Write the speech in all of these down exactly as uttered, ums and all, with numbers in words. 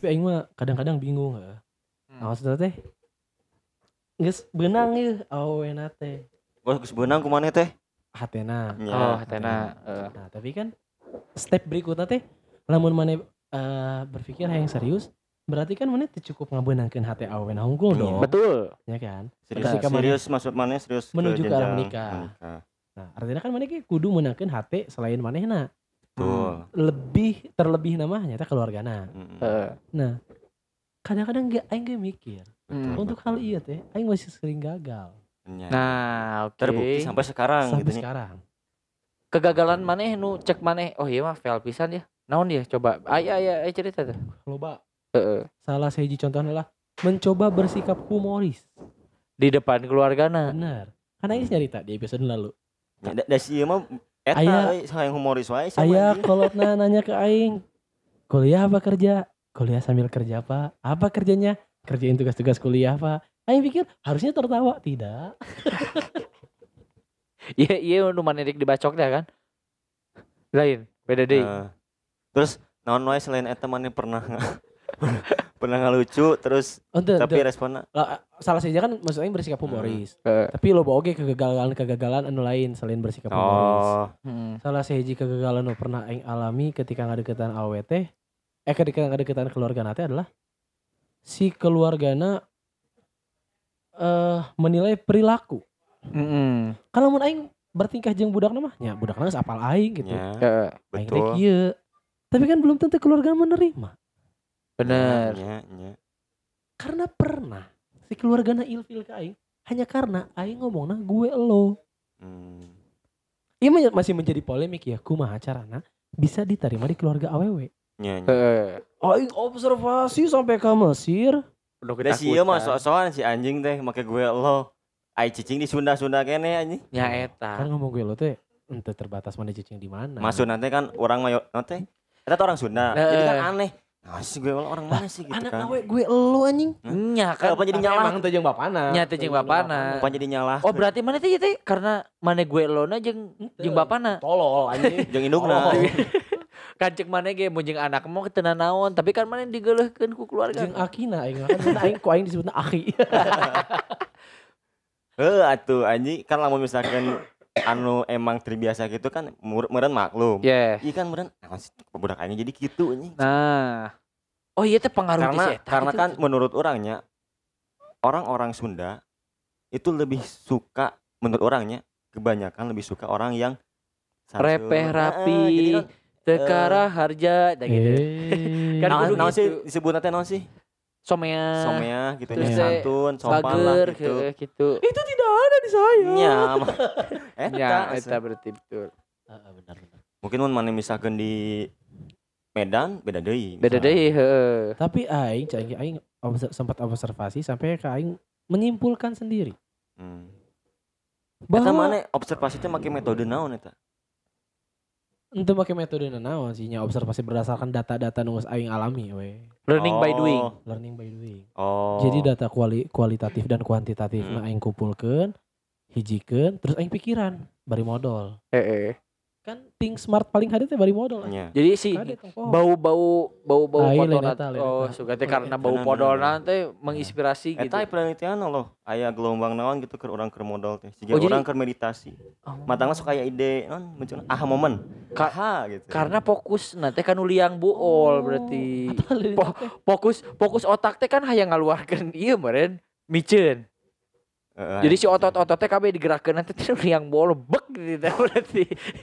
Tapi aing mah kadang-kadang bingung heeh. Hmm. Nah, maksudnya teh geus beunang ieu awewena teh. Gua geus beunang ku maneh teh. Hatena. Nya. Oh, hatena. Heeh. Nah, tapi kan step berikutnya teh lamun maneh uh, berpikir yang serius, berarti kan maneh teu cukup ngabeunangkeun hate awewena hungkul Iya. dong. Betul. Ya kan? Serius, Ketika maneh serius maksud maneh serius menuju ke arah jenjang menikah. menikah. Nah, artinya kan maneh ge kudu meunangkeun hate selain manehna. Betul. Lebih terlebih namanya teh keluargana. Mm-mm. Heeh. Nah, kadang-kadang ge aing ge mikir, Hmm. untuk hal ieu teh aing masih sering gagal Nya. Nah, oke. Terbukti sampai sekarang sampai gitu nya. sekarang. Kegagalan maneh nu cek maneh, oh iya mah fail pisan ya. Naon dia? Coba. Aya aya aya cerita tuh. Loba. Heeh. Salah sahiji contohnya adalah mencoba bersikap humoris. Di depan keluargana. Bener. Karena ini cerita di episode lalu. Nya da, da si ieu mah eta Aya- euy hayang humoris wae sama Aya anjing. kolotna nanya ke aing, kuliah apa kerja? Kuliah sambil kerja apa? Apa kerjanya? Kerjain tugas-tugas kuliah apa? Aing pikir harusnya tertawa, tidak. Iya iya nu maneh dik dibacok dah kan. Lain, beda deui. Nah, terus naon wae selain eta maneh pernah pernah ngalucu terus Untuk, tapi responnya salah saja kan maksud aing bersikap humoris. Heeh. Tapi lo oge kegagalan-kegagalan anu lain selain bersikap humoris. oh Hmm. Salah sahiji kegagalan nu pernah aing alami ketika ngadeukeutan awewe teh, eh ketika ngadeukeutan keluargana teh adalah si keluargana eh menilai perilaku. Heeh. Kalau mun aing bertingkah jeung budakna mah, nya budakna geus apal aing gitu. nya Heeh. Aing teh betul. kieu. Tapi kan belum tentu keluarga menerima. Bener. Nya nya. Karena pernah si keluargana ilfil ke aing hanya karena aing ngomongna gue elo. Hmm. Ini men- masih menjadi polemik ya, kumaha carana bisa diterima di keluarga awewe. Nya nya. Heeh. Aing observasi sampai ke Mesir. Penuh Da si ieu mah sok-sokan si anjing teh make gue lo. Ai cicing di Sunda-Sunda kene anjing. nya Kan eta. ngomong gue elo teh ente terbatas mana cicing di mana. Maksud nanti kan orang mayo teh. Eta tuh orang Sunda. Heeh. Jadi kan aneh. Nah, si gue lo orang mana sih gitu Anak kan. awe gue elo anjing. Nya kan. Apa jadi Tapi nyalah? emang teu jeung bapana. Nya teh jeung bapana. Apa jadi nyalah? Oh berarti mana teh teh karena mana gue elona jeung jeung bapana. Tolol anjing. Jeung indungna. Oh. Kan cek mana ge mun jeung anak mau teu naon, tapi kan mana digeuleuhkeun ku keluarga. Jeung akina aing kan mun aing ku aing disebutna aki. Heuh atuh anjing kan lamun misalkan anu emang terbiasa gitu kan mur- meureun maklum. Yeah. Iya kan meureun naon sih budak aing jadi kitu anjing. Nah. Oh iya teh pengaruh Karena di eta karena gitu. kan menurut orangnya orang-orang Sunda itu lebih suka menurut orangnya kebanyakan lebih suka orang yang santun. Repeh, Heeh, rapi, jadi kan tekara harja da gitu. Eh. Kan naon kudu naon gitu. sih disebutna teh naon sih? Somea. Somea gitu terus nya teh santun, sopan lah Pager gitu. gitu. gitu. Itu tidak ada di saya. Nya. mah. Eta. Ya, asa. eta berarti betul. Heeh, benar benar. Mungkin mun mana misalkan di Medan beda deui. Beda misalnya. deui heeh. Tapi aing cai aing obser- sempat observasi sampai ke aing menyimpulkan sendiri Hmm. Eta bahwa mana observasi teh make metode naon eta? ente make metode naon sih nya observasi berdasarkan data-data nu geus aing alami we. Learning by Oh. doing. Learning by doing. Oh. Jadi data kuali, kualitatif dan kuantitatif Hmm. na aing kumpulkeun, hijikeun, terus aing pikiran bari modal. Heeh. Kan ting smart paling hadit teh bari modal. nya. Jadi si Kade tong poho. bau-bau bau-bau Ah, iya, podol lain eta, lain oh eta. suka teh karena bau Bener, podol bener, teh menginspirasi gitu. Eta penelitian loh, aya gelombang naon gitu ke urang keur modal teh. Siga Oh, jadi- urang keur meditasi. Oh. Matangna sok aya ide, naon muncul aha momen. Ka- Aha gitu. Karena fokus nanti kan liang buol berarti. Atau lain Po- teh. Fokus fokus otak teh kan hayang ngaluarkeun ieu meureun miceun. Heeh, Jadi si otot-ototnya kabeh digerakkeun nanti teh liang buol bek gitu teh berarti.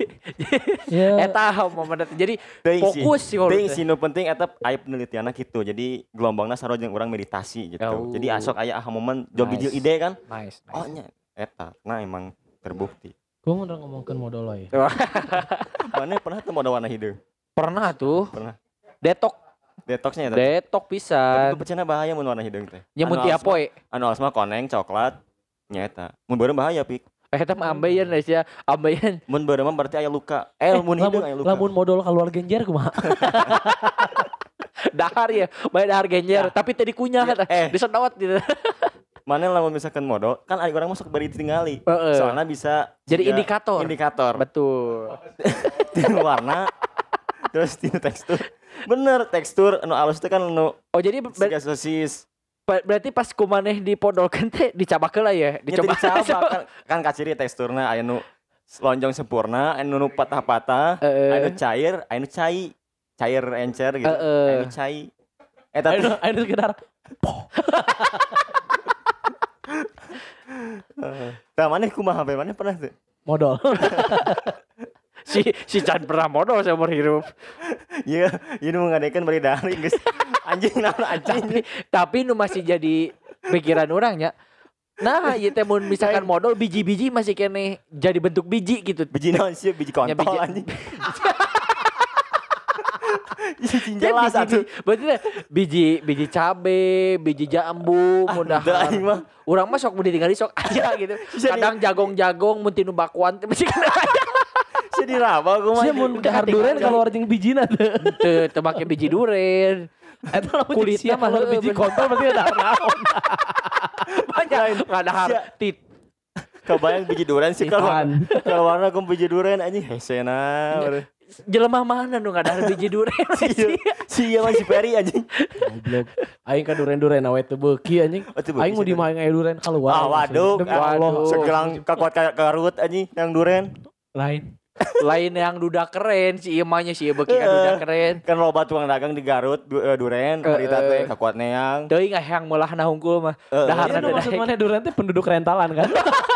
Ya, Eta momen eta. Jadi teuing sih. fokus sih Teuing teh. sih nu penting eta aya penelitianna gitu. Jadi gelombangna sarua jeung urang meditasi gitu. Oh. Jadi asok aya aha momen jog Nice. hiji ide kan. Nice. Oh nya eta. Nah emang terbukti. gua mau ngomongkeun modal we. Mana pernah teu modal warna hidung? Pernah tuh. Pernah. Detok, Detoxnya eta. detok Tapi pisan. pecena bahaya mun warna hidung teh. Nya mun Anu tiap asma- poe. Anu asma koneng coklat nyata. Mun beureum bahaya pik. Eta mah ambeien guys ya. Ambeien. Mun beureum mah berarti aya luka. Eh, mun hidung aya luka. Lamun modal keluar genjer kumaha? Dahar ya, bae dahar genjer, tapi teh dikunyah Ya, eta. eh. Disedot gitu. Mana lamun misalkan modal, kan ada orang masuk bari tinggali. Heeh. Soalnya bisa Jadi juga indikator. Indikator. Betul. Tina warna terus tina tekstur Bener, tekstur anu alus teh kan anu Oh jadi ber- siga sosis. ber- berarti pas kumaneh dipodolkeun teh dicabakeun lah ya, Dicoba dicoba. kan, kan kaciri teksturna aya nu lonjong sempurna, aya nu patah-patah, Heeh. aya nu cair, aya nu cai. Cair encer gitu. Heeh. Aya nu cai. Eh tapi Ayo, ayo sekedar tah maneh kumaha bae maneh pernah teu? modal. si si Chan pernah modal seumur hidup. Iya, ieu nu ngadekeun bari dari geus anjing naon anjing. Tapi tapi nu masih jadi pikiran orangnya. Nah, ieu teh mun misalkan modal biji-biji masih kene jadi bentuk biji gitu. Biji naon sih? Biji kontol Ya, biji- anjing. Biji Ya, jelas biji, atuh. biji- berarti teh biji biji cabe, biji jambu, mudah. Teu aing mah. Urang mah sok mun ditinggali sok aja gitu. Kadang jagong-jagong mun tinu bakuan teh masih kena. Sia diraba kumaha. Sia mun dahar duren kalau jeung bijina teu. Teu teu make biji duren. Eta lamun Kulitnya kulitnya mah mah heueuh, biji bener. kontol berarti ada naon. Banyak enggak dahar Sia. tit. Kebayang biji duren sih kalau Ikan. kalau warna kum biji duren anjing hesena. baru. Jelema mana nu enggak dahar biji duren. Iya, si iya mah si Peri anjing. Goblok. Aing ka duren-duren awe teu beuki anjing. Oh, teu beuki Aing mau sih, dimain aya duren keluar. Ah waduh, Demi Allah. waduh. segelang kakuat kayak karut anjing yang duren. Lain. Lain yang duda keren si ieu mah nya si ieu beuki ka duda keren. Kan loba tukang dagang di Garut du, eh, duren, Eh, harita teh eh. kakuat neang. Teuing hayang meulahna hungkul mah. Eh, Dahar Iya, ada maksud mana duren teh penduduk rentalan kan?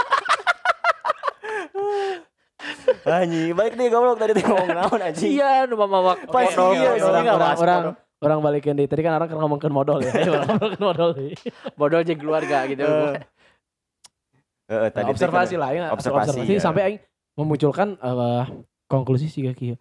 Anjing, balik deh goblok tadi teh ngomong naon anjing. Iya nu mama Pas modal. iya, orang, sini orang, nggak orang, bahas orang, modal. orang balikin deh. Tadi kan orang kan ngomongin modal ya. Ayo orang ngomongin modal deh. Modal jeung keluarga gitu. Eh, Heeh, tadi teh observasi kan- lah, ya. observasi, ya. sampai aing memunculkan eh, konklusi sih kieu.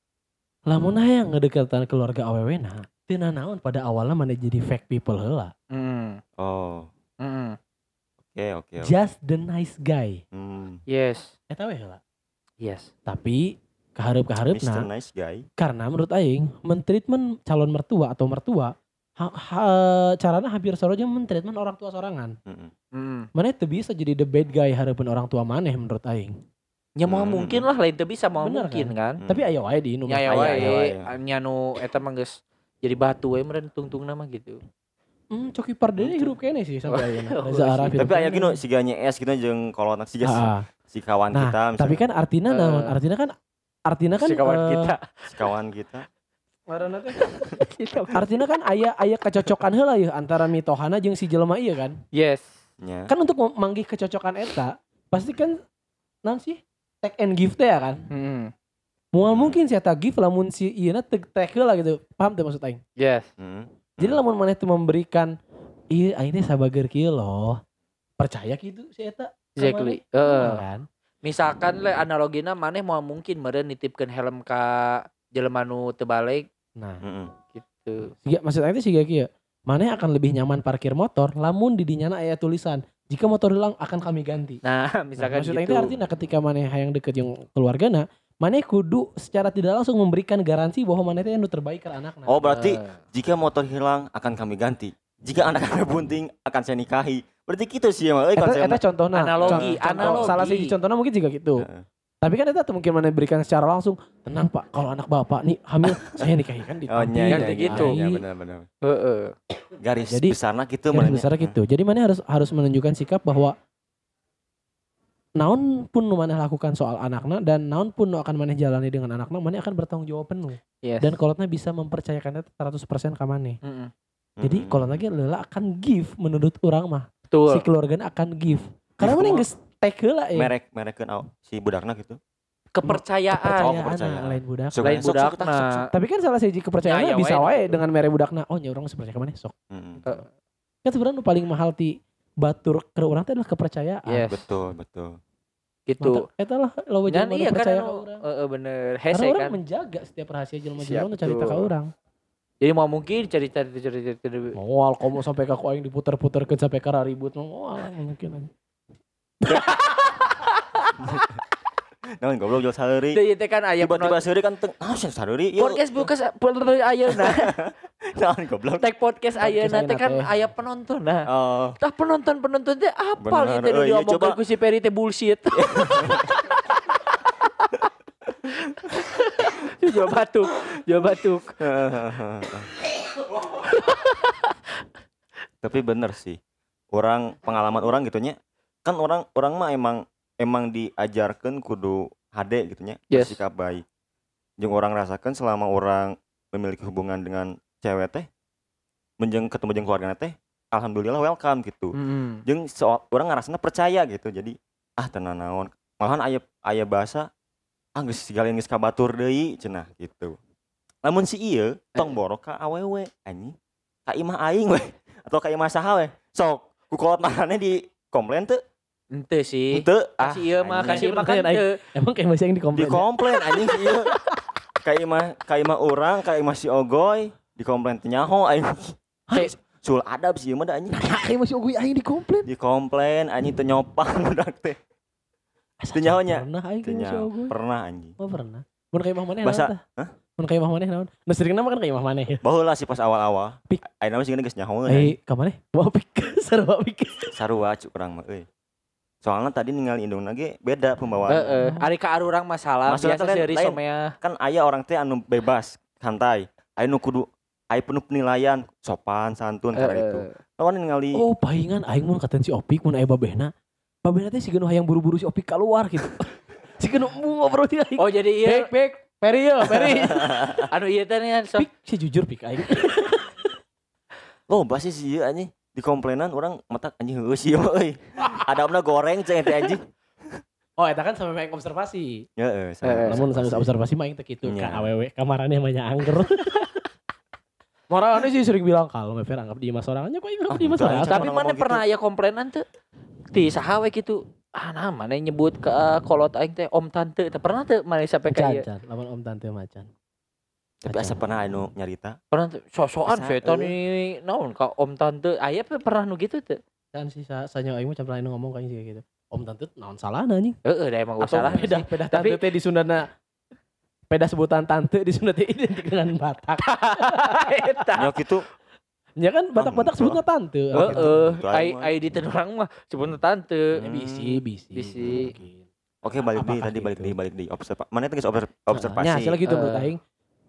Lamun hayang ngedekatan keluarga awewena, teu naon pada awalnya mana jadi fake people heula. Hmm. Oh, Hmm. oke oke. oke. Just the nice guy. Hmm, Yes. Eta we heula. Yes. Tapi Mister kahareup-kahareupna Nice Guy. karena menurut aing mentreatment calon mertua atau mertua ha, ha- carana hampir saroja mentreatment orang tua sorangan. Heeh. Hmm. Mana teu bisa jadi the bad guy hareupeun orang tua maneh menurut aing. Ya mau Hmm. mungkin lah lain teu bisa mau Bener mungkin kan. Hmm. Tapi aya wae di Indo. Nya ya Aya, wae aya wae. nya nu eta mah geus jadi batu we meureun tungtungna mah gitu. Hmm, Coki Pardede hirup kene sih sampai ayeuna. Oh, Reza Arab hirup Tapi aya kene. gini si ganya es gitu jeung kolotna si jas Ah, si kawan nah, kita tapi kan artinya Eh. naon? Artinya kan artinya kan si kawan eh, kita. si kawan kita. ngaranna teh. Artinya kan aya aya kecocokan heula ya antara mitohana jeung si jelema ieu kan. Yes. Nya. Kan untuk manggih kecocokan eta pasti kan naon sih? Take and give teh ya kan. Hmm. Moal mungkin si eta give lamun si ieuna teu take heula gitu. Paham teu maksud aing? Yes. Heeh. Jadi lamun maneh teu memberikan ieu aing teh sabager kieu loh. Percaya gitu si eta. ka Exactly. maneh. Heeh. Moal kan? Misalkan le analogina maneh mau mungkin meureun nitipkeun helm ka jelema nu teu balik Nah, Heeh. gitu. siga maksud aing teh siga kieu. Maneh akan lebih nyaman parkir motor lamun di dinyana aya tulisan jika motor hilang akan kami ganti. Nah, Nah, misalkan maksud aing gitu. teh artinya ketika maneh hayang deket jeung keluargana, maneh kudu secara tidak langsung memberikan garansi bahwa maneh teh anu terbaik ke anakna. Oh, berarti Eh, jika motor hilang akan kami ganti. Jika anak anda bunting akan saya nikahi. Berarti gitu sih emang euy Eta, konsepna. eta contohna. Analogi, Con- contoh- analogi. Salah satu contohnya mungkin juga gitu. Heeh. Tapi kan eta tuh mungkin maneh berikan secara langsung. Tenang Pak, kalau anak Bapak nih hamil, saya nikahi kan di Oh, panti, nya, Kan nya, gitu. nya, benar benar. heeh. Garis Jadi, besarnya gitu Garis benernya. besar gitu. Jadi maneh harus harus menunjukkan sikap bahwa naon pun nu maneh lakukan soal anakna dan naon pun nu akan maneh jalani dengan anakna, maneh akan bertanggung jawab penuh. Yes. Dan kolotna bisa mempercayakannya seratus persen ka maneh. Heeh. Jadi Mm-mm. kalau lagi leula akan give menurut orang mah. Betul. Si keluargana akan give. Karena Give mana kumaha? geus take heula ya. merek merekkeun au si budakna gitu. Kepercayaan. Oh, Kepercayaan kepercayaan. lain budak. Sok, Lain sok, sok, budakna. sok, sok. Tapi kan salah siji kepercayaan Ya, ya, bisa wae. wae dengan mere budakna. Oh nya urang sepercaya ka maneh sok. Mm-mm. Kan sebenarnya nu paling mahal ti batur ke urang teh adalah kepercayaan. Yes. Betul, betul. Gitu. Mata, eta lah loba Dan jelema iya nu kan percaya anu, ka urang. heeh bener. Karena Hese orang kan. menjaga setiap rahasia jelema Siap, jelema nu carita ka betul. urang. Jadi mau mungkin cerita cerita cerita. Moal komo sampai ka ku aing diputer-puterkeun sampai ka ribut moal mungkin. Naon goblok jual saheuri. Teu ieu teh kan aya Tiba-tiba penonton. saheuri kan teu naon sih saheuri. Yuk. Podcast bukas podcast ayeuna. Naon goblok. Tag podcast ayeuna teh kan teh. aya penonton nah. Oh, Tah penonton-penonton teh apal Bener, ieu teh nu euy, iya, diomongkeun coba. ku si Peri teh bullshit. jual batuk, jual batuk. Tapi bener sih. Orang pengalaman orang gitunya. Kan orang orang mah emang emang diajarkan kudu H D gitunya, Yes. bersikap baik. Jeung orang rasakan selama orang memiliki hubungan dengan cewek teh, menjeng ketemu jeung keluarga teh, alhamdulillah welcome gitu. Hmm. Jeung so, orang ngerasana percaya gitu. Jadi ah tenan naon. Malahan aya aya bahasa ah geus sigalian geus kabatur deui cenah gitu. Lamun si ieu tong borok ka awewe anjing. Ka imah aing we atau ka imah saha we. Sok ku kolot manehna di komplain teu? Ente sih. Henteu. Kasih ieu mah, kasih mah kan Aing. teu. Emang kayak masih yang dikomplain. Dikomplain anjing si ieu. Ka imah ka imah urang, ka imah si Ogoy dikomplain teu nyaho aing. Kayak Sul adab si ieu mah da anjing. Kayak masih ogoy aing dikomplain. Dikomplain anjing teu nyopang budak teh. Teu nyaho nya. Pernah aing Teu kayak masih nyaho. ogoy. Pernah anjing. Oh pernah. Mun kayak imah maneh Basa- naon tah? hah? Mun kayak imah maneh naon? Nu sering nama kan kayak imah maneh ya. Baheula sih pas awal-awal. Pik. Ayeuna mah sieuna geus nyahoeun. Eh, ka maneh? Mau pik. Sarua pik. Sarua cuk urang mah euy. Soalnya tadi ningali indungna ge beda pembawaan. Heeh, ari ka arurang masalah Maksudnya biasa teh seuri lain. somea. Kan aya orang teh anu bebas, santai. Aya nu kudu aya penuh penilaian, sopan, santun karena itu. Lawan ningali Oh, pahingan aing mun katen si Opik mun aya babehna. Babehna teh sigeun hayang buru-buru si Opik keluar gitu. Sigeun ngobrol ti aing. Oh jadi Pik, ieu pik. Peri yo, Peri. anu ieu teh nya sok Pik, si jujur pik aing. oh basi sih ieu anjing. Di komplainan orang matak anjing heueuh sih mah euy. Adabna goreng cenah teh anjing. Oh, eta kan sampe main observasi. Heeh, Eh, Namun sambil observasi mah aing teh kitu Iya. ka awewe kamarannya mah nya angger. Marane sih sering bilang kalau Mever anggap di mas sorangannya kok anggap Ah, di mas enggak, sorangan. Cak, tapi orang mana ngomong pernah gitu. aya komplainan teu? Ti saha we kitu. Ah nah mana nyebut ke uh, kolot aing teh om tante teh pernah teu mana sampai ka ieu? Macan, lawan om tante macan. Tapi asa pernah anu nyarita. Pernah teu? Sosokan Asa, setan eh. ini naon ka om tante aya pe pernah nu gitu teu? Kan si sa sanyo aing mah can pernah anu ngomong kayak gitu. Om tante naon salahna anjing? Heeh da emang Atau salah peda sih. peda Tapi- tante teh di Sundana peda sebutan tante di Sunda teh identik dengan Batak. Eta. Nya kitu. Ya kan Batak-Batak enggak. sebutnya tante. Oh, gitu. Heeh, Itu ai aing mah. ai di tenurang mah sebutna tante. Ya, Hmm. bisi, bisi. Bisi. mungkin. Oke, balik deui Apakah tadi balik gitu? deui balik deui observa. Mana teh geus obser- observasi. Nya hasilnya gitu menurut Eh. aing.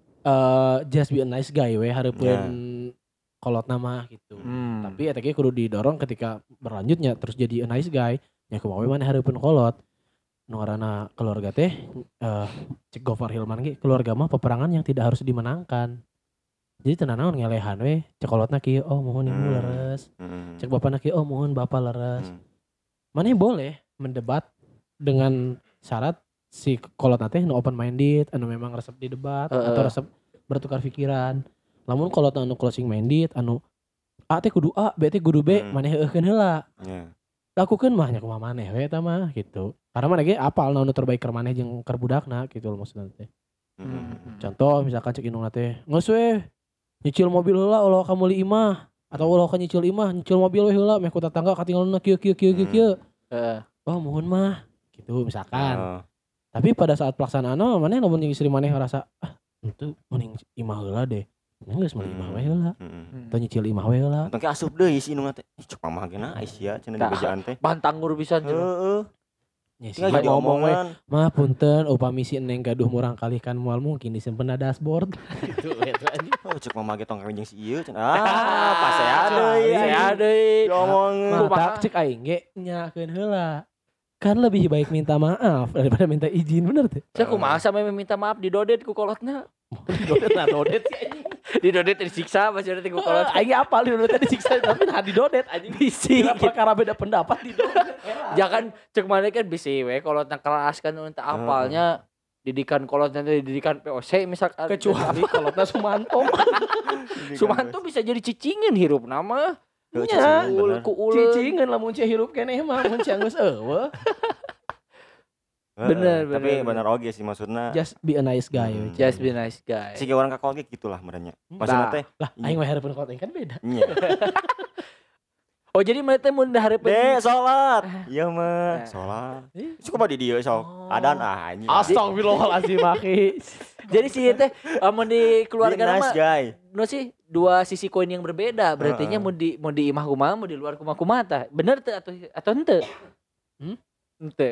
Eh just be a nice guy we hareupeun kolot nama gitu. Hmm. Tapi eta ge kudu didorong ketika berlanjutnya terus jadi a nice guy. Nya kumaha we maneh hareupeun kolot. Nu ngaranna keluarga teh eh cek Gofar Hilman ge keluarga mah peperangan yang tidak harus dimenangkan. Jadi tenan naon ngelehan we cek kolotna kieu oh mohon ibu Hmm. leres. Heeh. Cek bapana kieu oh mohon bapak leres. Hmm. Maneh boleh mendebat dengan syarat si kolot teh nu open minded anu memang resep di debat Heeh. atau resep bertukar pikiran. Lamun kolot anu closing minded anu A teh kudu A, B teh kudu B, Hmm. maneh heueuhkeun heula. Nya. Lakukeun mah nya kumaha maneh we eta mah gitu. Karena maneh ge apal naon nu terbaik keur maneh jeung keur budakna gitu loh maksudna teh. Heeh. Contoh misalkan cek indungna teh, "Geus we nyicil mobil heula ulah ka meuli imah." Atau ulah ka nyicil imah, nyicil mobil we heula meh ku tetangga katinggalna kieu kieu kieu kieu Hmm. kieu. Heeh. Oh mohon mah gitu misalkan. Oh. Tapi pada saat pelaksanaan maneh lamun jeung istri maneh ngerasa ah itu mending imah heula deh. Mending geus meuli imah we heula. Heeh. Atau nyicil imah we heula. Atau ke asup deui si indungna teh. Ih, cek mamah ge naes ya cenah di Tah. bejaan teh. Bantanggur pisan cenah. Heeh. Nya sih Tinggal jadi ngomong we, omongan. mah punten upami si Neng gaduh murang kali kan moal mungkin disimpen na dashboard. Gitu eta anjing. Oh, cek mamah ge tong kawin jeung si ieu cenah. Ah, pasea deui. Saya deui. Ngomong. Mata cek aing ge nyakeun heula. Kan lebih baik minta maaf daripada minta izin bener teh. Saya kumaha sampe meminta maaf didodet ku kolotna. Didodet lah dodet sih anjing. Didodet disiksa pas ada ku kolot. Aing apal didodet disiksa tapi nah didodet anjing. Bisi. Kira perkara beda pendapat didodet. Jangan cek mana kan bisi we kolotna keras kan untuk apalnya didikan kolotna teh didikan P O C misalkan. Kecuali kolotna Sumanto. Sumanto bisa jadi cicingan hirup nama. Heeh, nya, cicingan, Ul bener. ku uleun. Cicingeun lamun cek hirup keneh mah mun cek geus eueuh. Heeh, Bener, Tapi bener, bener oge sih maksudna. Just be a nice guy. Hmm. we. Just be nice guy. Si orang kakol ge gitulah merenya. Maksudna Nah. teh Lah aing mah hareupeun kolot kan beda. nya. Oh jadi mana teh mun hareupeun Dek, salat. Iya mah, salat. Eh. Suka di dieu sok. Oh. Adan ah anjing. Astagfirullahalazim akhi. Jadi sih teh mun di Be keluarga nice mah guy. no sih dua sisi koin yang berbeda. Berarti nya Heeh. mau di mau di imah kumaha mau di luar kumaha kumaha tah. Bener teh atau atau henteu? Hmm? Henteu.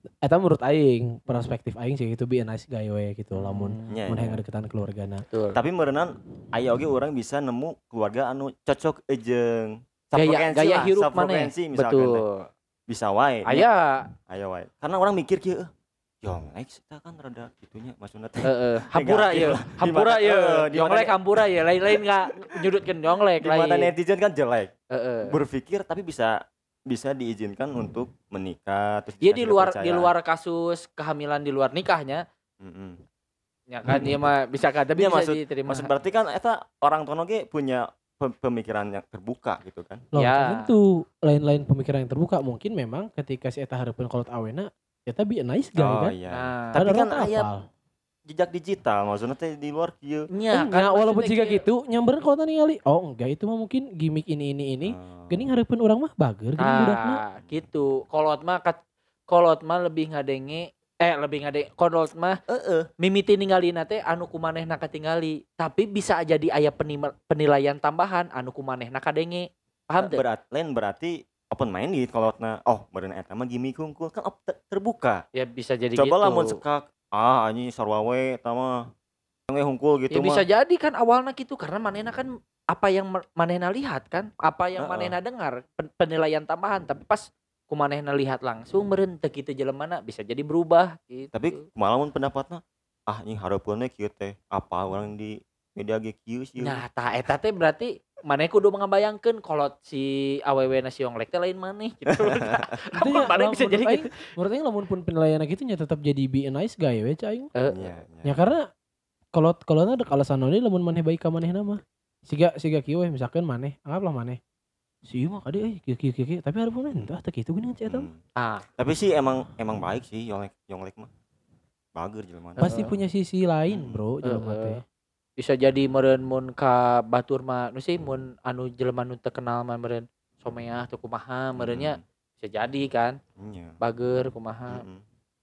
Eta menurut aing, perspektif aing sih itu be a nice guy we gitu lamun Nya, mun nya. hayang ngadeukeutan keluargana. Betul. Tapi meureunnan aya oge urang bisa nemu keluarga anu cocok jeung Gaya safrekuensi gaya lah, hirup maneh. safrekuensi misalkan teh. Betul. Bisa wae. nya. Aya, Aya wae. Karena orang mikir kieu, eh, Yonglek kita kan rada gitunya maksudna teh. heeh, hampura Negatif ieu, lah. hampura Di mata- ieu. eh, di mata Yonglek ne- hampura ieu, lain-lain enggak nyudutkeun yonglek Di mata lain. netizen kan jelek. Heeh. Berpikir tapi bisa bisa diizinkan untuk menikah terus Dia bisa di sudah luar percaya. di luar kasus kehamilan di luar nikahnya, Mm-mm. ya kan dia mah bisa kan tapi Iya, bisa maksud- diterima. Maksud berarti kan eta orang tua ge punya pe- pemikiran yang terbuka gitu kan. Loh, Ya. tentu lain-lain pemikiran yang terbuka mungkin memang ketika si eta hareupeun kolot awena eta be a nice guy Oh kan. iya. Nah, Tapi Padahal kan teu aya apal. jejak digital maksudnya teh di luar kieu. nya Enggak, walaupun maksudnya jika kayak- gitu nyamperin kalau ningali oh enggak itu mah mungkin gimmick ini ini ini Oh. geuning hareupeun urang mah bager geuning budakna. Ah, gitu. Kolot mah kat, kolot mah lebih ngadenge eh lebih ngade kolot mah Heeh. mimiti ninggalina teh anu kumanehna katingali. Tapi bisa jadi aya penima- penilaian tambahan anu kumanehna kadenge. Paham teu? Berat, lain berarti open minded kalau na oh meureun eta mah gimmick hungkul kan op- te- terbuka. Ya bisa jadi Coba gitu. lamun sekak ah anjing sarua we eta mah we hungkul gitu Ya mah. bisa jadi kan awalnya gitu karena manehna kan apa yang ma- manehna lihat kan, apa yang Heeh. manehna dengar, pen- penilaian tambahan. Tapi pas kumanehna lihat langsung meureun teu kitu jelemana bisa jadi berubah gitu. Tapi malah mun pendapatna ah anjing hareupeun we kieu teh apa orang di media ge kieu sih. Nah, tah eta teh berarti maneh kudu ngabayangkeun kolot si awewena si Yonglek teh lain maneh gitu. Itu nya, Maneh lamun bisa menurut jadi aing- gitu. menurut aing lamun pun penilaian gitu nya tetap jadi be a nice guy we cai. Eh, Iya, iya. Ya karena kalau kalau ada alasan naon lamun maneh baik ka manehna mah. Siga siga kieu we misalkan maneh, anggaplah maneh. Si ieu mah kade euy kieu kieu kieu tapi hareupeun entah teu kitu geuning si eta. mah. Hmm. Ah, Tapi sih emang emang baik sih Yonglek Yonglek mah. Bager jelema. Pasti Heeh. punya sisi lain, Hmm. Bro, jelema Heeh. teh. bisa jadi meureun mun ka batur mah nu sih mun anu jelema nu teu kenal mah meureun someah teu kumaha meureunnya bisa jadi kan Iya. bager kumaha. Heeh.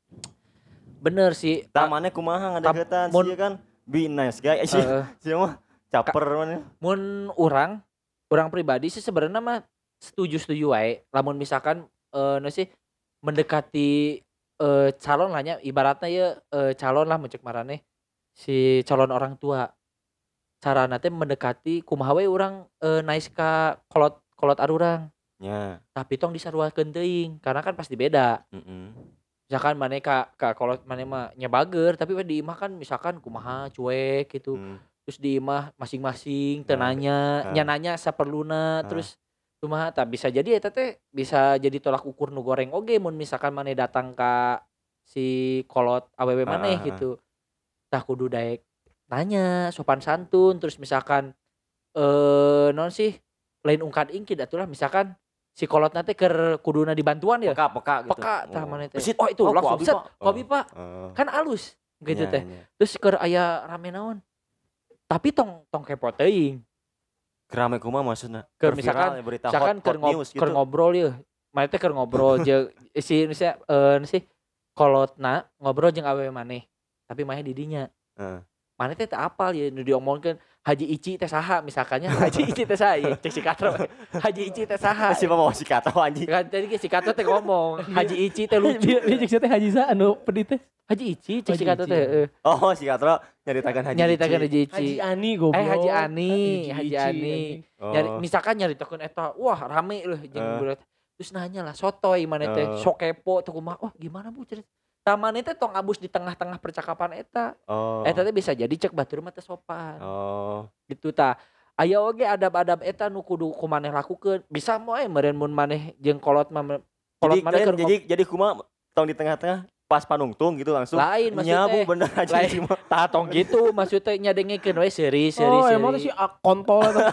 Bener sih. Tah maneh kumaha ngadeukeutan mun- sih kan be nice guy sih. Heeh. Sia mah caper maneh. Mun urang urang pribadi sih sebenarnya mah setuju-setuju wae lamun misalkan eh nu sih mendekati eh calon lah nya ibaratnya ya eh, calon lah mencek marane si calon orang tua carana teh mendekati kumaha we urang eh, nice ka kolot kolot arurang Ya. tapi tong disaruakeun teuing karena kan pasti beda Heeh. misalkan maneh ka ka kolot maneh mah nya bager tapi we di imah kan misalkan kumaha cuek gitu Hmm. terus di imah masing-masing teu Nah, nanya nah. nya nanya saperluna Nah. terus kumaha tah bisa jadi eta teh bisa jadi tolak ukur nu goreng oge mun misalkan maneh datang ka si kolot awewe Ah, maneh ah, ah. gitu tah kudu daek nanya sopan santun terus misalkan eh non sih lain ungkad ingkid atulah misalkan si kolot teh keur kuduna dibantuan ya Peka peka gitu. peka tah maneh teh Besit. oh itu Oh, langsung ku abi, set Pak. ku abi, Pak Oh. kan alus gitu Iya, teh iya. terus keur aya rame naon tapi tong tong kepo teuing Kerame kumaha maksudna? Keur Keur misalkan- viral, berita misalkan hot, keur hot ngob news keur gitu. ngobrol ya mana teh keur ngobrol jeung si nu sia eh nu sih kolotna ngobrol jeung awewe maneh tapi maneh di dinya Heeh. maneh teh teu apal ya nu diomongkeun Haji Ici teh saha misalkannya Haji Ici teh saha ya cek si Katro Haji Ici teh saha Si mau si kata anjing. kan tadi ge si Katro teh ngomong Haji Ici teh lucu Dia dia cek teh Haji Sa anu pedit teh. Haji Ici cek si Haji Katro Ici, teh ya. heeh Oh, si Katro nyaritakan Haji. nyaritakeun Ici. Haji Ici Haji Ani goblok. Eh, Haji Ani, Haji Ici, Ani. anjing. Oh. Nyari, misalkan nyaritakeun eta wah rame loh jeung Eh. bulat terus nanya lah sotoy mana teh Eh. sok kepo tuh kumaha oh gimana Bu cerita taman teh tong abus di tengah-tengah percakapan eta Oh. eta teh bisa jadi cek batur mah teh sopan Oh. gitu ta aya oge adab-adab eta nu kudu kumaneh lakukeun bisa moe meureun mun maneh jeung kolot mah me- kolot Jadi maneh kalian keur jadi jadi kumaha tong di tengah-tengah pas panungtung gitu langsung. lain Nya Bu maksudnya bener aja lain. sih mah. tah tong gitu maksudnya nyadengekeun we seri seri Oh, seri emang tuh si ah, kontol eta.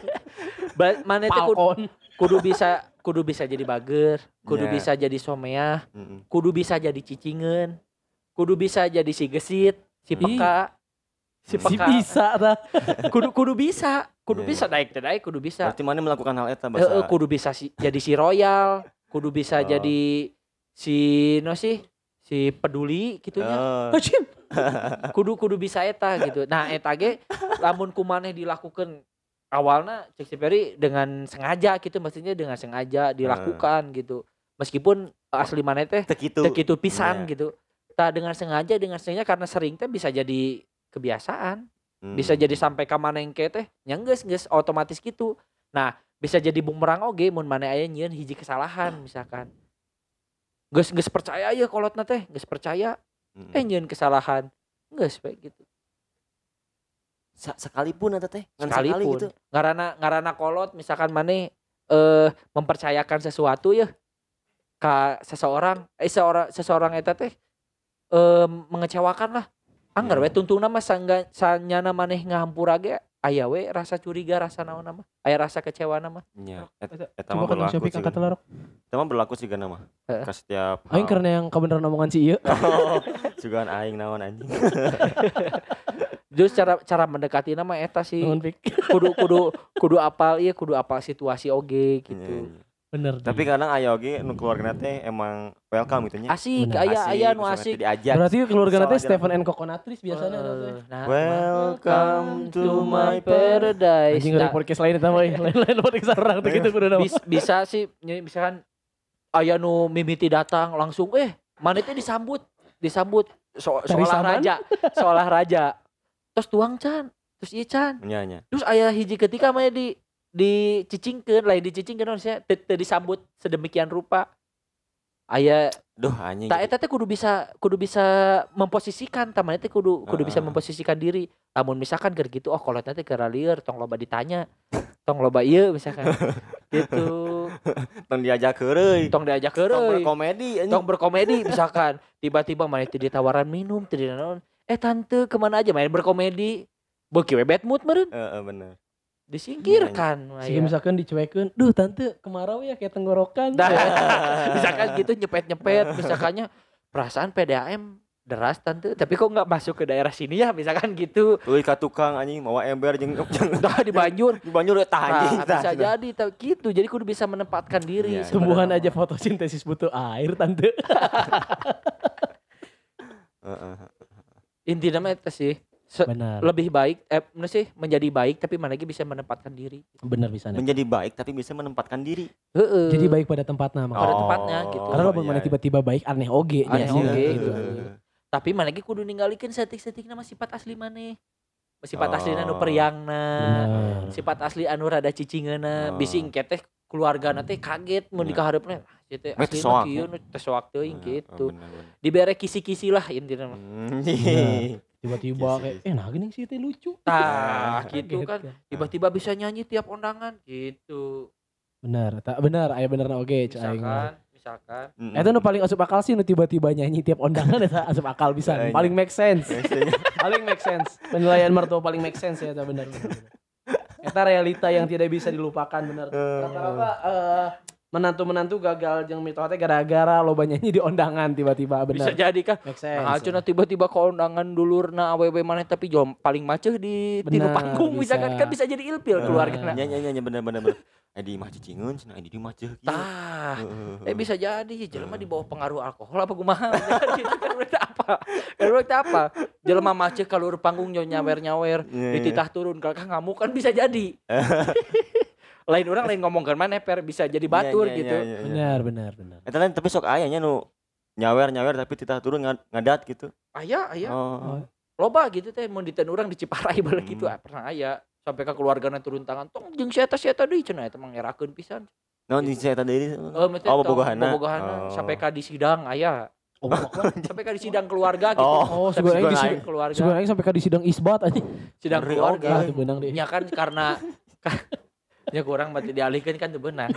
Ba- maneh teh kudu, Falcon. kudu bisa kudu bisa jadi bager kudu Ya. bisa jadi someah Heeh. kudu bisa jadi cicingan kudu bisa jadi si gesit si Ih. peka si Si peka bisa tah. kudu kudu bisa kudu Iya, bisa naik teh naik kudu bisa Berarti mana melakukan hal eta Heeh, bahasa. kudu bisa si, jadi si royal kudu bisa Oh. jadi si no sih si peduli gitunya Oh. Anjing. kudu kudu bisa eta gitu nah eta ge lamun kumaneh dilakukan awalnya cek si Peri dengan sengaja gitu maksudnya dengan sengaja dilakukan gitu meskipun asli maneh teh teu kitu. teu kitu pisan Iya. gitu. Tah dengan sengaja dengan sengaja karena sering teh bisa jadi kebiasaan. Hmm. Bisa jadi sampai ka manengke teh nya geus geus otomatis gitu. Nah, bisa jadi bumerang oge mun maneh aya nyieun hiji kesalahan misalkan. Geus geus percaya ya kolotna teh, geus percaya Mm. eh nyieun kesalahan. Geus bae gitu. Sa- sekalipun eta teh, ngan sekali Sekalipun gitu. ngaranna ngaranna kolot misalkan maneh eh mempercayakan sesuatu ya ka seseorang eh seorang seseorang eta teh eh mengecewakan lah. Anggar Iya. we tungtungna mah sangga sanyana maneh ngahampura ge aya we rasa curiga rasa naon mah. Aya rasa kecewa mah. Nya, et- Eta, eta Coba mah kan berlaku Syafik sih. angkat telarok. Eta mah berlaku sih kana mah. Heeh. Ka setiap Aing hal. karena yang kebenaran omongan si ieu. Oh, jugaan aing naon anjing. Terus cara cara mendekati nama eta sih Nuhun Fik. kudu kudu kudu apal ieu kudu apal situasi oge Iya, gitu. iya. Bener. Tapi kadang aya oge nu keluargana teh emang welcome gitu nya. Asik Bener. aya aya nu misalnya asik. teh diajak. berarti keluarga Soal nanti aja Stephen and Coconutris biasanya Eh, nanti. nah, Welcome to my paradise. Anjing dari Nah, podcast lain eta mah, lain-lain podcast orang tuh gitu kudu nama. bis- bisa sih ny- misalkan aya nu mimiti datang langsung eh mana teh disambut disambut so, Cari seolah saman? raja seolah raja terus tuang can terus ieu can Nya nya. terus aya hiji ketika mah di dicicingkeun lain dicicingkeun maksudnya teu teu disambut sedemikian rupa aya Duh anjing. tak eta teh kudu bisa kudu bisa memposisikan taman teh kudu kudu bisa Heeh. memposisikan diri namun misalkan keur gitu oh kolotna teh keur lieur tong loba ditanya tong loba ieu misalkan gitu Tong diajak heureuy. tong diajak Tong heureuy berkomedi anjing. tong berkomedi misalkan tiba-tiba mana teu ditawaran minum teu dinaon eh tante kemana aja main berkomedi beuki we bad mood meureun Heeh bener. disingkirkan Sehingga aya. misalkan dicuekeun, duh tante kemarau ya kayak tenggorokan. Nah, misalkan gitu nyepet-nyepet misalkannya perasaan P D A M deras tante tapi kok nggak masuk ke daerah sini ya misalkan gitu Tuluy ka tukang anjing mawa ember jeung jeung dah di Banjur di Banjur eta anjing. nah, bisa jadi tapi gitu jadi kudu bisa menempatkan diri Iya, iya. Tumbuhan sebenarnya. aja fotosintesis butuh air tante. Heeh. Intinya mah eta sih Se- Benar. lebih baik eh mana sih menjadi baik tapi mana lagi bisa menempatkan diri Benar bisa nih. Menjadi baik tapi bisa menempatkan diri. heeh Jadi baik pada tempatnya Pada mah. tempatnya gitu. Karena lo iya, mana iya. tiba-tiba baik aneh oge Aneh nya sih, oge, gitu. Heeh. tapi mana lagi kudu ninggalikeun setik-setik nama sifat asli maneh sifat Oh. asli anu periangna Benar. sifat asli anu rada cicingeuna Oh. bisi engke teh keluarga teh kaget mun Bener. dikahareupna ah ieu teh Weh, asli teu soak, kieu nu teh soak teuing Heeh, gitu bener, bener. dibere kisi-kisi lah intinya mah Hmm, iya. Tiba-tiba Yes, kayak, yes. eh nah gini sih teh lucu. tah Kaget gitu kan tiba-tiba bisa nyanyi tiap undangan gitu Benar, tak benar, aya bener oge cai aing. misalkan misalkan Mm-mm. Eta nu paling asup akal sih nu tiba-tiba nyanyi tiap undangan eta asup akal bisa. Iya, iya. Paling make sense. Biasanya. Paling make sense. Penilaian mertua paling make sense ya eta benar. benar, benar. Eta realita yang tidak bisa dilupakan benar. Rata-rata eh, menantu-menantu gagal jeung mitoh teh gara-gara loba nyanyi di undangan tiba-tiba bisa benar. jadi kan Make sense. nah cenah tiba-tiba ke undangan dulurna awewe maneh tapi jom paling maceh di tinu Benar, panggung bisa. misalkan kan bisa jadi ilpil Heeh. keluarga Nya nya nya bener bener bener. Eh di mah cicingeun cenah di mah ceuh kieu. tah Heeh, eh heeh. bisa jadi jelema di bawah pengaruh alkohol apa kumaha gitu kan berarti apa kan berarti apa jelema maceh kalur panggung nyawer nyawer Iya, iya. dititah turun kakak ngamuk kan bisa jadi lain orang lain ngomongkan mana per bisa jadi batur Iya, iya, gitu iya, iya, iya. Benar, benar, benar. Eta lain tapi sok aya nya nu nyawer-nyawer tapi titah turun ngad- ngadat gitu. aya aya Oh. loba gitu teh mun diteun urang di Ciparai bae gitu Hmm. ah, pernah aya sampai ke keluargana turun tangan tong jeung si eta si eta deui cenah eta mah ngerakeun pisan Naon di eta deui? oh mete Oh, tong bobogohana. bobogohana Oh. sampai ka di sidang aya Oh, pokoknya sampai ka di sidang keluarga gitu Oh, Oh, sampai sebenarnya di di sidang keluarga Sebenarnya aing sampai ka di sidang isbat aja. sidang Ngeri keluarga Ah, itu benang deh. nya kan karena ya kurang mati dialihkeun kan teu beunang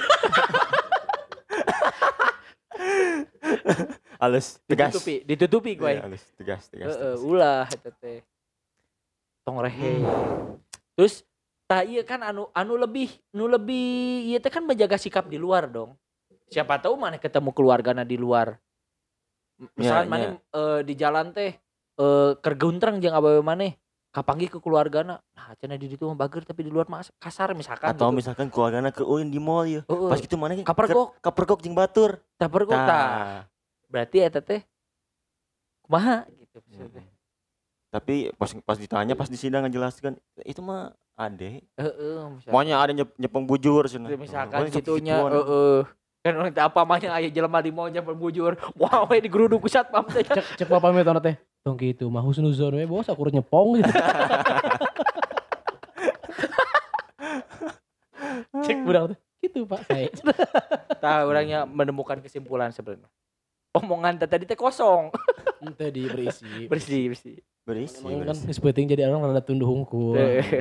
Halus, tegas. ditutupi ditutupi gue Iya, halus, tegas, tegas. heeh tegas. ulah eta teh tong rehe terus tah ieu kan anu anu lebih nu lebih ieu teh kan menjaga sikap di luar dong siapa tahu mana ketemu keluargana di luar M- misalkan Ya, mana eh, di jalan teh eh keur geuntreng jeung awewe maneh kapanggih ke keluargana nah cenah di ditu mah bager tapi di luar mah kasar misalkan Atau gitu. misalkan keluargana ke ulin di mall ya. Heeh. Pas gitu mana Kapergok. kapergok jeung batur. tah pergok tah Tah. berarti eta teh kumaha gitu maksudnya. Mm-mm. Tapi pas pas ditanya pas di sidang ngejelaskan itu mah ade. Heeh misalkan. Pokoknya ada nyep, nyepeng bujur cenah. misalkan Pokoknya gitunya segituan. heeh Kan orang teh apa mah aya jelema di mall nya berbujur. Wah we digeruduk ku satpam teh. Cek cek papa metona teh. Tong kitu mah husnuzon we bos aku nyepong gitu. Cek budak teh. Gitu Pak saya. Tah orangnya menemukan kesimpulan sebenarnya. Omongan teh tadi teh kosong. Ente di berisi. Bersih, bersih. Berisi, Emang kan berisi. geus penting jadi orang rada tunduh hungkul.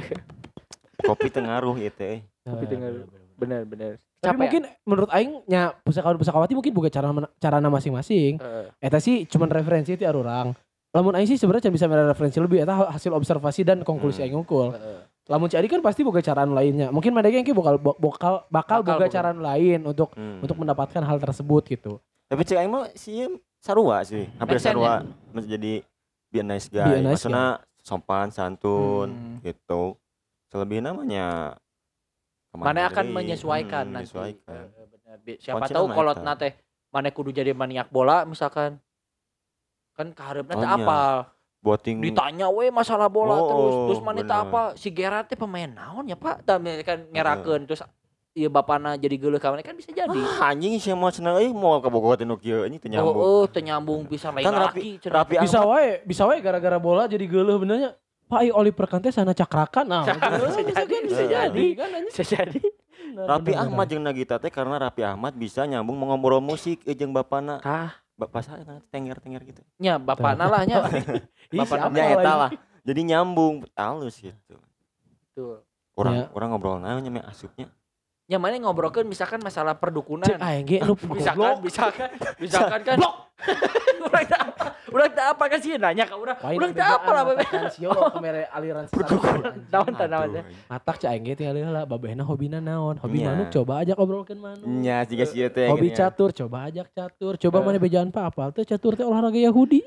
Kopi tengaruh itu eh. Kopi tengah. Bener, bener. Tapi Capek mungkin menurut aing nya pusakawan-pusakawati mungkin bukan cara carana masing-masing. Heeh. Eta sih cuman referensi ti arurang. Lamun aing sih sebenarnya can bisa mere referensi lebih eta hasil observasi dan konklusi Hmm. aing ngukul. Heeh. Lamun Ci Adi kan pasti boga cara lainnya. Mungkin mereka yang bakal bakal bakal Bakal boga boga. cara lain untuk Hmm. untuk mendapatkan hal tersebut gitu. Tapi cek aing mah sih sarua sih. Hampir Make sense, sarua menjadi be a nice guy. Be a nice Maksudnya sopan, santun Hmm. gitu. Selebihnya namanya Mana akan menyesuaikan hmm, nanti. menyesuaikan. Heeh, bener. Bi- Siapa Kuncinya tahu mah kolot eta. nate mana kudu jadi maniak bola misalkan. Kan kaharepna teh Oh, iya. apal. Boting Ditanya we masalah bola Oh, terus terus mana teh bener. apa si Gerard teh pemain naon ya Pak tah kan ngerakeun terus ieu bapana jadi geuleuh ka mana kan bisa jadi. ah, anjing sih mau cenah euy mau kabogohan nu kieu anjing teu nyambung. Oh, oh teu nyambung pisan lain Kan laki Rapi Rapi Bisa Ahmad wae, bisa wae gara-gara bola jadi geuleuh benernya. Pak ieu Oliver Kahn teh sana cakrakan nah. Bisa jadi, bisa jadi. Kan anjing. bisa jadi. Bener, Rapi bener, Ahmad bener. jeung Nagita teh karena Rapi Ahmad bisa nyambung mau ngobrol musik eh, jeung bapana. Tah Bapak saya tenger-tenger gitu. nya bapana lah nya. Ih, Bapak siapa Ya eta lagi? lah. Jadi nyambung halus gitu. Tuh. Orang Ya. orang ngobrol naon nya asupnya. Nya mana ngobrolkeun misalkan masalah perdukunan. Cek aing ge nu Misalkan, misalkan, misalkan kan. Urang teh apa? Urang teh apa kan sih nanya ka urang. Urang teh apa lah bebe. Sio kamera aliran sesat. Naon teh naon teh. Matak cek aing ge tinggal heula babehna hobina naon? Hobi Nya. manuk coba ajak obrolkeun manuk. Nya jiga sieu teh. Hobi gini ya. catur coba ajak catur. Coba mana bejaan pa apal teh catur teh olahraga Yahudi.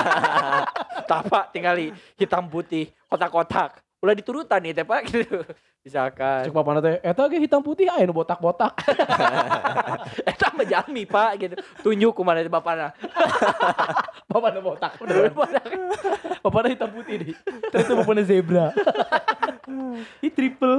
Tah Pak tingali hitam putih kotak-kotak. Ulah diturutan nih teh Pak gitu. Misalkan Cek papana teh eta ge hitam putih aya nu botak-botak. eta mah jalmi Pak gitu. Tunjuk ku mana teh bapana. Papana botak. Papana hitam putih deh. Terus papana zebra. Ih triple.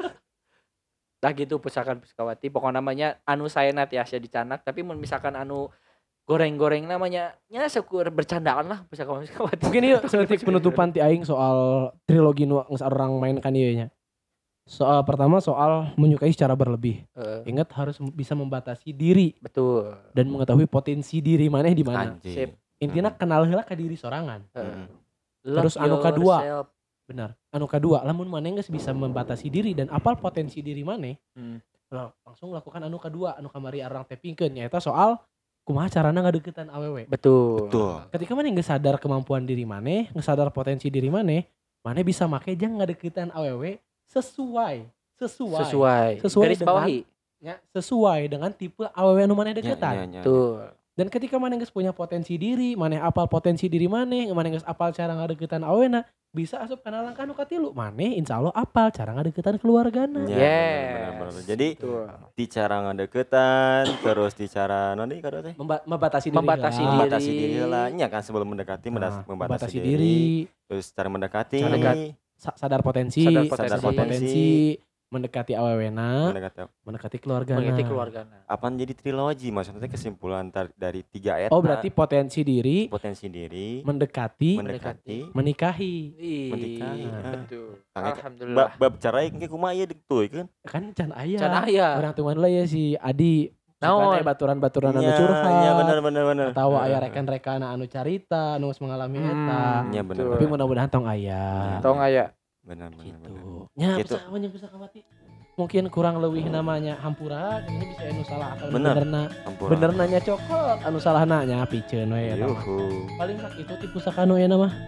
Lah gitu pusakan puskawati pokoknya namanya anu saena teh asa dicanak tapi mun misalkan anu goreng-goreng namanya nya syukur bercandaan lah pusakan puskawati. Mungkin ieu seperti penutupan ti aing soal trilogi nu geus orang mainkan ieu nya. Soal pertama soal menyukai secara berlebih. Heeh, Ingat harus bisa membatasi diri betul. dan mengetahui potensi diri maneh di mana. Anjing. Sip. Intinya kenal heula ka diri sorangan. Heeh. Mm. Terus Love anu kadua. yourself. Benar. Anu kedua, lamun maneh geus bisa membatasi diri dan apal potensi diri maneh, Hmm. lah, langsung lakukan anu kedua, anu kamari arang tepingkeun nyaeta soal kumaha carana ngadeukeutan awewe. Betul. Betul. Ketika maneh geus sadar kemampuan diri maneh, geus sadar potensi diri maneh, maneh bisa make jang ngadeukeutan awewe sesuai sesuai Sesuai. Sesuai Garis dengan- bawahi. nya, sesuai dengan tipe awewe anu maneh Nya, deukeutan. nya, nya. Tuh. Dan ketika maneh geus punya potensi diri, maneh apal potensi diri maneh, maneh geus apal cara ngadeukeutan awena, bisa asup kana langkah nu katilu. Maneh insyaallah apal cara ngadeukeutan keluargana. Nya, Yes. bener, bener, bener. Jadi Tuh. di cara ngadeukeutan terus di cara non deui kada teh? Memba- membatasi diri. Membatasi heula. diri. Membatasi diri heula. Nya kan sebelum mendekati mendas- Nah, membatasi, membatasi diri. diri, Terus cara mendekati Cara dekat- sa- sadar potensi, Sadar sadar potensi. potensi, mendekati awewena, mendekati. Mengerti mendekati keluargana. keluargana. Apaan jadi trilogi maksudnya teh kesimpulan tar- dari tiga ayat. Oh berarti potensi diri, potensi diri, mendekati, mendekati, menikahi. Ih, Menikahi, nah. betul. Kang Eka, Alhamdulillah. bab bab cara engke kumaha ieu dituikeun? Kan can aya. Can aya. Orang tuan lah ya si Adi. Naon? Naon? Baturan-baturan anu Nya, curhat. nya bener bener bener. Atau Heeh. aya rekan-rekan anu carita, anu geus mengalami Hmm. eta. Nya bener. Betul. Tapi mudah-mudahan tong aya. Tong aya. Bener bener bener. Gitu. Nya Gitu. bisa yang bisa kawati. Mungkin kurang leuwih namanya hampura, ini bisa anu salah akal Bener. benerna. Ampun. Bener nanya cokot, anu salahna nya piceun we eta mah. Yuhu. Paling sak itu tipe sakanu ya nama.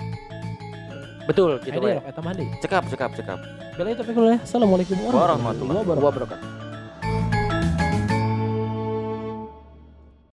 Betul gitu Gitu we. eta mah deui. Cekap cekap cekap. Bela itu pikul ya. Assalamualaikum warahmatullahi Warahmatullahi wabarakatuh. Wabarakatuh.